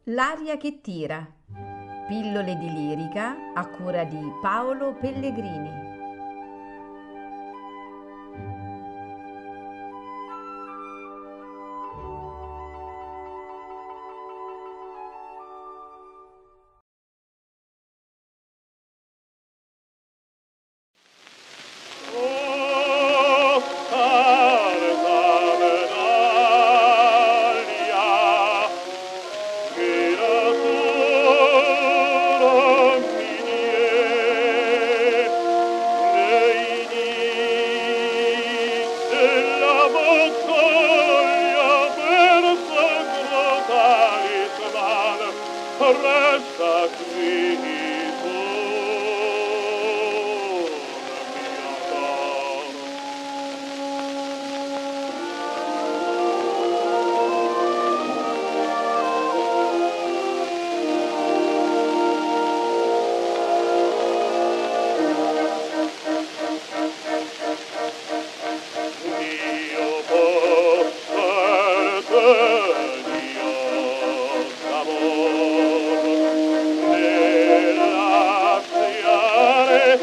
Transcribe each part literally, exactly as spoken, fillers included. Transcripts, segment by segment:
L'aria che tira. Pillole di lirica a cura di Paolo Pellegrini. Oh, carta medaglia, che la tua mi nei dì della battaglia per sacro talisman, resta qui Dio posserte Dio d'amor nell'aziare il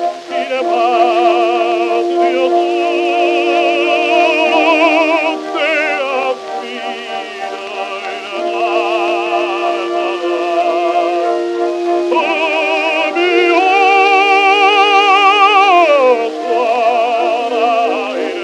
patrio tutte affida il oh mio suora il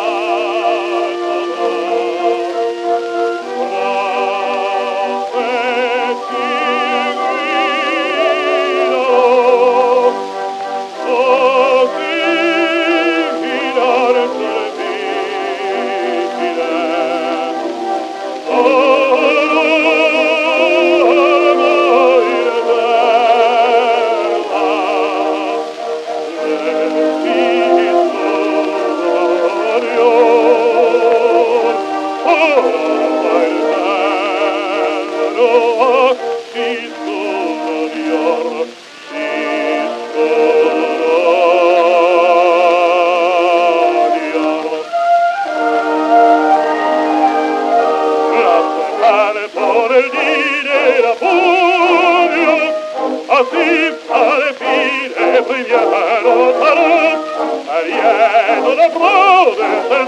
Así alle fine brillano tarò, ariano da prode del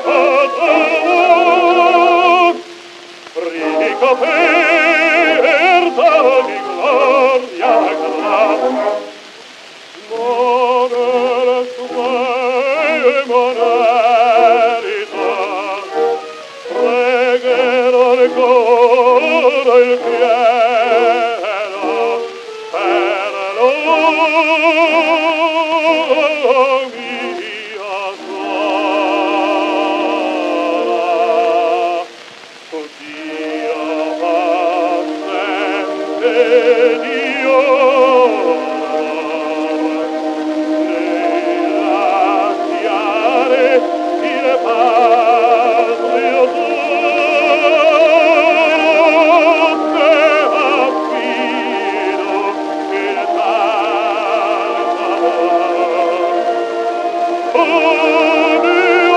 patro, ricoperta di gloria grande, monere supremo merito, pregherò ancora il cielo per lui mia suora. O Dio paziente Dio nell'ansiare il patrio tutte affido il Salvador. Oh mio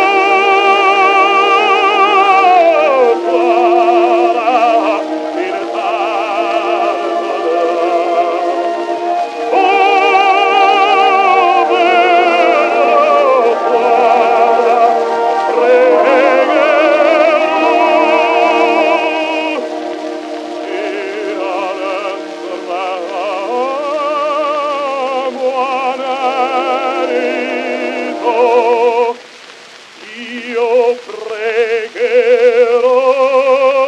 suora il Salvador. Oh bello suora, pregherò io pregherò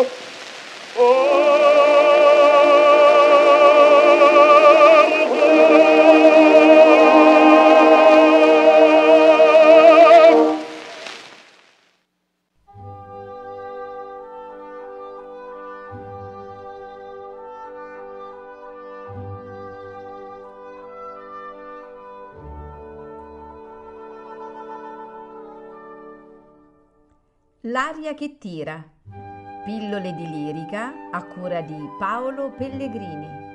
L'aria che tira. Pillole di lirica a cura di Paolo Pellegrini.